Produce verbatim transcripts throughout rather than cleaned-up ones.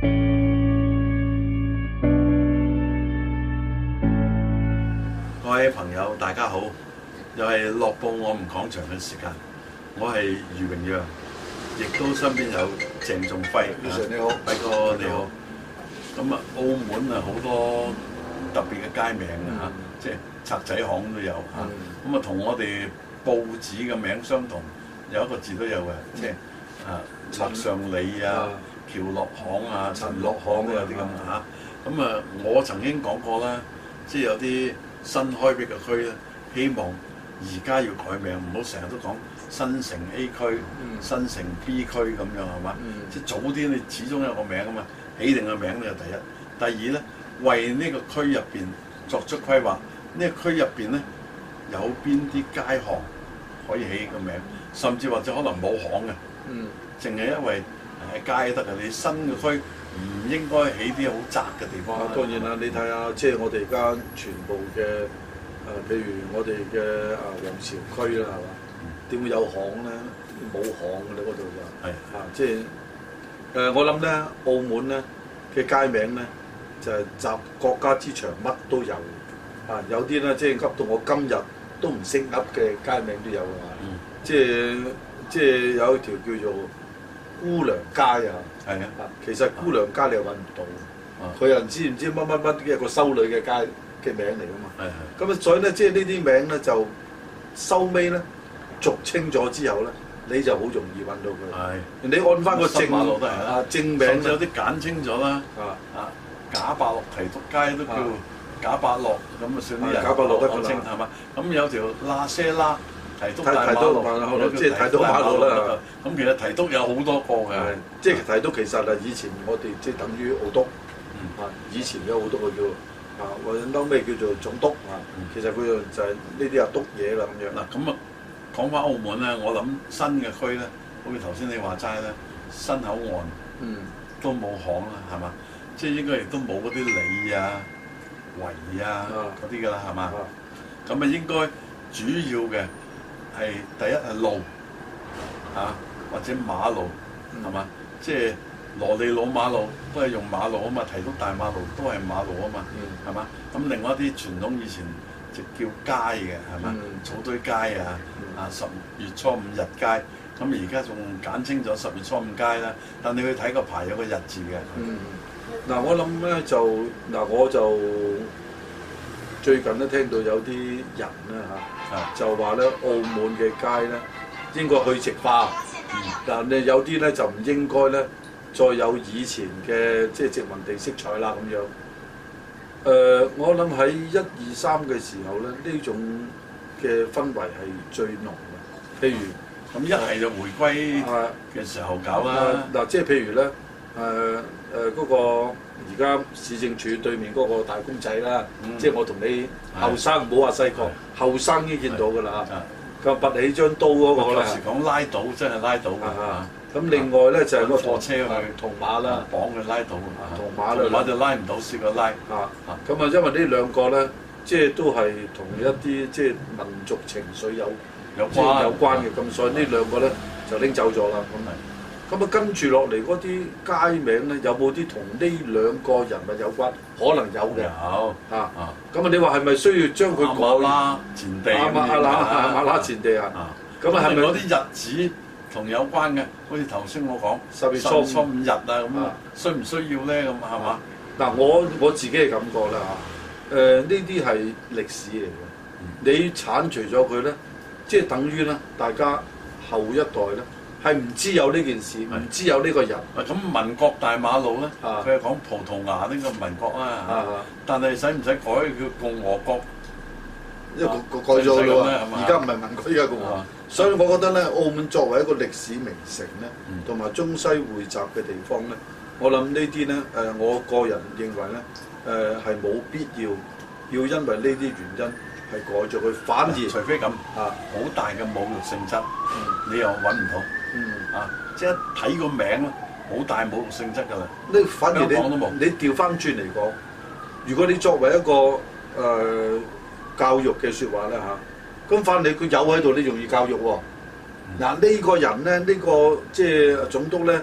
各位朋友，大家好！又係樂報我們講場嘅時間，我係余榮陽，亦都身邊有鄭仲輝。 你好， 輝哥你好。咁啊，澳門啊好多特別嘅街名啊嚇，即係賊仔巷都有嚇。咁啊，同我哋報紙嘅名相同，有一個字都有嘅，即係啊樂上里啊、橋落巷啊、陳落巷啊啲咁嚇。咁啊，我曾經講過啦，即係有啲新開闢嘅區咧，希望而家要改名，唔好成日都講新城 A 區、嗯、新城 B 區咁樣係嘛？嗯、即係早啲你始終有個名啊嘛，起定個名呢個第一。第二咧，為呢個區入邊作出規劃，呢、這個區入邊咧有邊啲街巷可以起個名，甚至或者可能冇巷嘅，淨係、嗯、因為誒街得嘅。你新嘅區唔應該起啲好窄嘅地方。 啊、當然啦，你睇下即係我哋而家全部嘅誒、呃，譬如我哋嘅啊皇朝區啦，係嘛？點、嗯、會有巷咧？冇巷嘅咧，嗰度就係啊，即係誒、呃，我諗咧，澳門咧嘅街名咧就係、是、集國家之長，乜都有啊！有啲咧即係噏到我今日都唔識噏嘅街名都有㗎嘛、嗯，即係即係有一條叫做姑娘街啊，係啊，其實姑娘街你又揾唔到，佢又唔知唔知乜乜乜嘅一個修女嘅街嘅名嚟㗎嘛。係係。咁啊，所以咧，即係呢啲名咧就收尾咧俗稱咗之後咧，你就好容易揾到佢。係。你按翻個正馬路都係啦，正名甚至有啲簡稱咗啦。啊啊，賈伯樂提督街都叫賈伯樂，咁啊算啲人賈伯樂得個稱係嘛？咁有條喇些啦。提督大馬路，即係提督馬路啦。咁其實提督有好多個嘅，即係提督其實啊，以前我哋即係等於澳督，啊以前有好多個叫啊，或者嬲咩叫做總督啊。其實佢就係呢啲啊督嘢啦咁樣。嗱咁啊，講翻澳門咧，我諗新嘅區咧，好似頭先你話齋咧，新口岸都冇巷啦，係嘛？即係應該亦都冇嗰啲里啊、圍啊嗰啲㗎啦，係嘛？咁啊應該主要嘅。係第一係路嚇、啊，或者馬路係嘛？即係羅利老馬路都係用馬路啊嘛，提督大馬路都係馬路啊嘛，係嘛？咁、嗯、另外一啲傳統以前就叫街嘅係嘛？嗯、草堆街啊，嗯、啊十月初五日街，咁而家仲簡稱咗十月初五街啦。但你去睇個牌有個日字嘅。嗯，嗱、嗯、我諗咧就嗱我就最近都聽到有啲人咧嚇。就話咧，澳門嘅街咧應該去殖化，但係、嗯、有啲咧就唔應該咧再有以前嘅即係殖民地色彩啦咁樣。誒、呃，我諗喺一二三嘅時候咧，呢種嘅氛圍係最濃嘅。譬如咁一係就回歸嘅時候搞啦。嗱、啊，即係譬如咧，誒誒嗰個而家市政署對面嗰個大公仔啦，嗯、即係我同你後生唔好話細個。後生已經見到㗎啦，佢拔起張刀嗰個啦。有時講拉倒，真係拉倒㗎。咁另外咧就係個貨車去銅馬啦，綁佢拉倒。銅馬啦，銅馬就拉唔到，試過拉。啊，咁啊，因為呢兩個咧，即係都係同一啲即係民族情緒有有關有關嘅，咁所以呢兩個咧就拎走咗啦。咁咪。咁啊，跟住落嚟嗰啲街名咧，有冇啲同呢兩個人物有關？可能有嘅。有啊啊！咁啊，你話係咪需要將佢改啦？前地咁樣啊？馬拉前地啊？咁啊，係咪嗰啲日子同有關嘅？好似頭先我講十月初初五日啊，咁啊，需唔需要咧？咁係嘛？嗱，我我自己嘅感覺啦嚇。誒，呢啲係歷史嚟嘅。你剷除咗佢咧，即係等於咧，大家後一代咧。係唔知有呢件事，唔的知有呢個人。咁民國大馬路咧，佢係講葡萄牙呢個民國啊，的但係使唔使改叫共和國？因為改咗啦，而家唔係民國，而家共和。的所以我覺得咧，澳門作為一個歷史名城咧，同埋、嗯、中西匯集嘅地方咧，我諗呢啲咧，誒，我個人認為咧，誒係冇必要要因為呢啲原因。係改咗佢，反而除非咁啊，好大嘅侮辱性質，你又揾唔到，啊，即係一睇個名咧，好大侮辱性質㗎啦。你反而你你調翻轉嚟講，如果你作為一個誒教育嘅説話咧嚇，咁反而佢有喺度，你容易教育喎。嗱呢個人咧，呢個即係總督咧，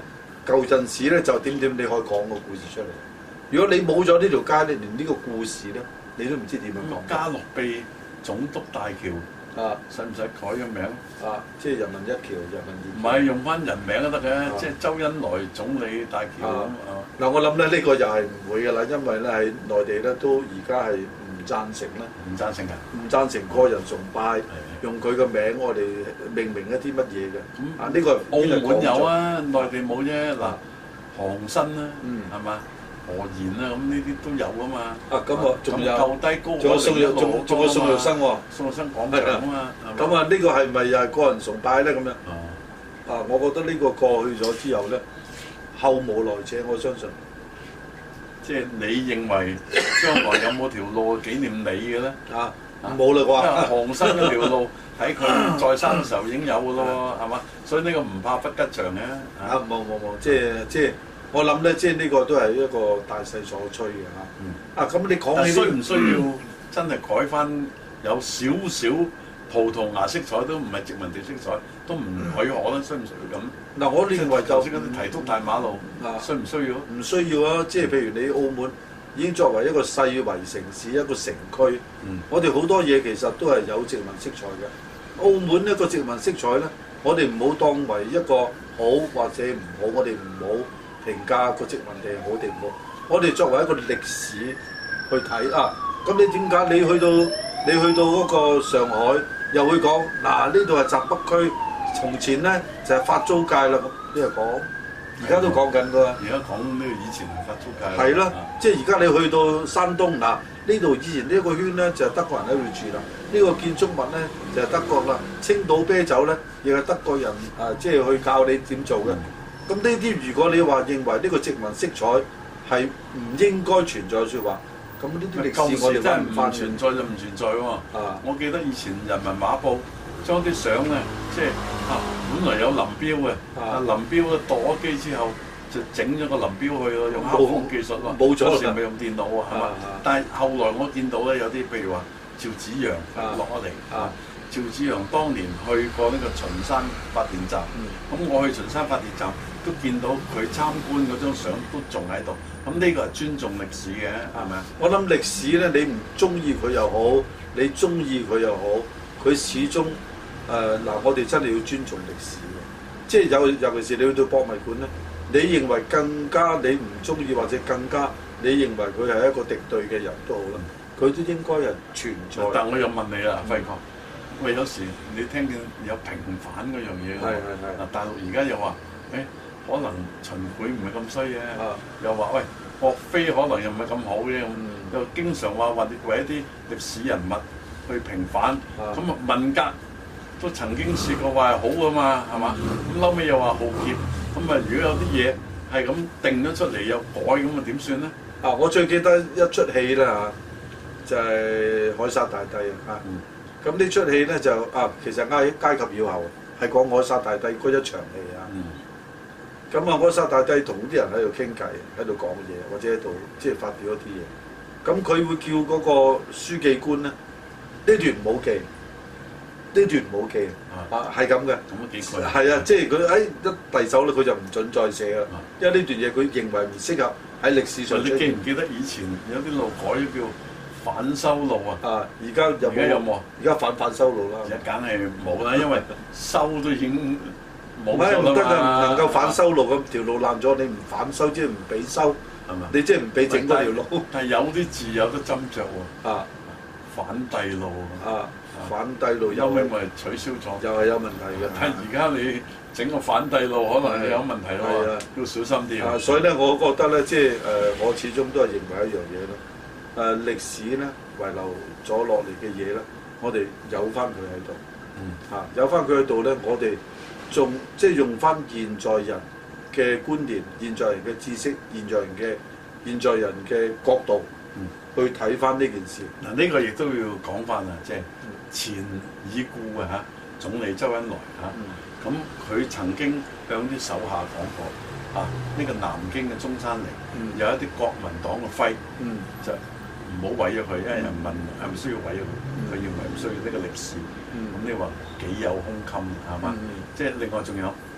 舊陣時咧就點點，你可以講個故事出嚟。如果你冇咗呢條街，你連呢個故事咧，你都唔知點樣講。 嘉樂庇總督大橋啊，使唔使改個名啊？即係人民一橋、人民二橋。 唔係用翻人名都得嘅，啊、即係周恩來總理大橋咁啊。 嗱、啊，我諗咧呢、呢個又係唔會㗎啦，因為咧喺內地咧都而家係唔贊成啦。唔贊成啊？唔贊成個人崇拜，用佢個名我哋命名一啲乜嘢嘅。咁、嗯、啊，呢、呢個澳門有啊，內地冇啫。嗱，韓新啦，係嘛？何賢啊，咁呢啲都有啊嘛。啊，咁啊，仲有夠低高，仲有宋玉，仲仲有宋玉生喎。宋玉生講嘅啊嘛。咁啊，呢個係咪又係個人崇拜咧？咁樣。啊，我覺得呢個過去咗之後咧，後無來者，我相信。即係你認為將來有冇條路紀念你嘅咧？啊，冇啦啩。韓新嗰條路喺佢在生嘅時候已經有嘅咯，係嘛？所以呢個唔怕不吉祥嘅。啊，冇冇冇，即係即係。我諗咧，即係呢個都係一個大勢所趨嘅嚇。嗯、啊，咁你講起需唔需要真係改翻有少少葡萄牙色彩，都唔係殖民地色彩，都唔許可啦？需唔需要咁？嗱、啊，我認為就嗰啲提督大馬路，啊、需唔需要？唔需要啊！即係譬如你澳門已經作為一個世遺城市、一個城區，嗯、我哋好多嘢其實都係有殖民色彩嘅。澳門一個殖民色彩咧，我哋唔好當為一個好或者唔好，我哋唔好評價個殖民地好定唔好，我哋作為一個歷史去睇啊。咁你點解你去到你去到嗰個上海，又會講嗱呢度係閘北區，從前咧就係、是、法租界啦。咁呢個講，而家都講緊㗎。而家講呢個以前係法租界。係咯，啊、即係而家你去到山東嗱，呢度以前呢一個圈咧就係、是、德國人喺度住啦。呢、這個建築物咧就係、是、德國啦。青島啤酒咧亦係德國人啊，即係去教你點做嘅。嗯咁呢啲如果你話認為呢個殖民色彩係唔應該存在嘅説話，咁呢啲歷史我哋真係唔存在就唔存在喎。啊！我記得以前人民畫報將啲相咧，即係啊，本來有林彪嘅，啊林彪咧墮咗機之後就整咗個林彪去咯，用黑鋒技術喎。冇咗嗰時咪用電腦喎，係嘛？但係後來我見到咧有啲譬如話趙紫陽落咗嚟啊。趙紫陽當年去過呢個秦山發電站，咁、嗯、我去秦山發電站都見到佢參觀嗰張相都仲喺度，咁呢個係尊重歷史嘅，係咪啊？我諗歷史咧，你唔中意佢又好，你中意佢又好，佢始終誒嗱、呃，我哋真係要尊重歷史嘅，即係有尤其是你去到博物館咧，你認為更加你唔中意或者更加你認為佢係一個敵對嘅人都好啦，佢都應該係存在。但我又問你啦，輝哥。喂，有時你聽見有平反嗰樣嘢喎，嗱大陸而家又話，誒、欸、可能秦檜唔係咁衰嘅，啊、又話喂岳飛可能又唔係咁好嘅，嗯、又經常話話為一啲歷史人物去平反，咁啊文革都曾經試過話係好㗎嘛，係嘛？咁後尾又話浩劫，咁啊如果有啲嘢係咁定咗出嚟又改，咁啊點算咧？啊，我最記得一出戲啦嚇，就係、是《凱撒大帝》啊。嗯咁呢出戲咧就啊，其實挨階級要後，係講凱撒大帝嗰一場戲啊。咁啊、嗯，凱撒大帝同啲人喺度傾偈，喺度講嘢，或者喺度即係發表一啲嘢。咁佢會叫嗰個書記官咧，呢段唔好記，呢段唔好記啊，係咁嘅。咁都幾攰。係啊，即係佢誒一遞手咧，佢就唔準再寫啦。啊、因為呢段嘢佢認為唔適合喺歷史上。你記唔記得以前有啲路改咗叫反修路啊！啊，而家有冇？有冇？而家反反修路啦。而家梗係冇啦，因為修都已經冇咗啦嘛。唔得㗎，唔能夠反修路咁條路爛咗，你唔反修即係唔俾修，係嘛？你即係唔俾整嗰條路。但係有啲字有得斟酌喎。啊，反帝路啊，反帝路後尾咪取消咗，又係有問題嘅。但係而家你整個反帝路可能有問題咯，要小心啲。啊，所以咧，我覺得咧，即係誒，我始終都係認為一樣嘢咯。誒、呃、歷史咧遺留咗落嚟嘅嘢咧，我哋有翻佢喺度，嗯、啊有翻佢喺度咧，我哋仲即係用翻現在人嘅觀念、現在人嘅知識、現在人嘅現在人嘅角度、嗯、去睇翻呢件事。嗱呢、嗯、個亦都要講翻啊，即係前已故嘅嚇總理周恩來嚇，咁佢、嗯、曾經向啲手下講過啊，呢、這個南京嘅中山陵、嗯、有一啲國民黨嘅徽，嗯、就唔好毀咗佢，因為人問係咪需要毀咗佢，佢認為唔需要呢個歷史。咁、嗯、你話幾有胸襟係嘛？嗯、即係另外仲有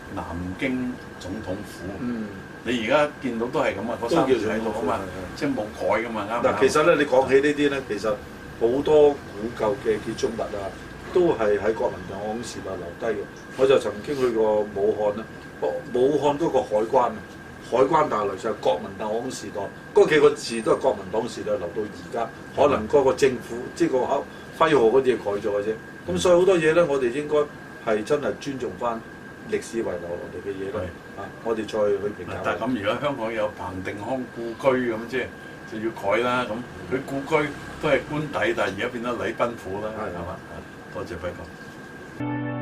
南京總統府。 嗯， 你而家見到都係咁啊，嗰三個字喺度啊嘛，即係冇改噶嘛，啱唔啱？ 嗱，其實咧，你講起呢啲咧，其實好多古舊嘅建築物啊，都係喺國民黨時代留低嘅。我就曾經去過武漢啦，武漢嗰個海關啊，海關大樓就係國民黨時代，嗰幾個字都係國民黨時代留到而家，可能嗰個政府即係個口徽號嗰啲嘢改咗嘅啫。咁所以好多嘢咧，我哋應該係真係尊重翻歷史遺留落嚟嘅嘢咯。啊，我哋再去評價。 但係咁，如果香港有彭定康故居咁，即係就要改啦。咁佢故居都係官邸，但係而家變咗禮賓府啦，係嘛？多謝輝哥。